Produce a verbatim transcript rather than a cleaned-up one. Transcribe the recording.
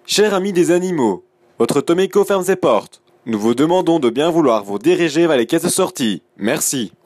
Chers amis des animaux, votre Tomeco ferme ses portes. Nous vous demandons de bien vouloir vous diriger vers les caisses de sortie. Merci.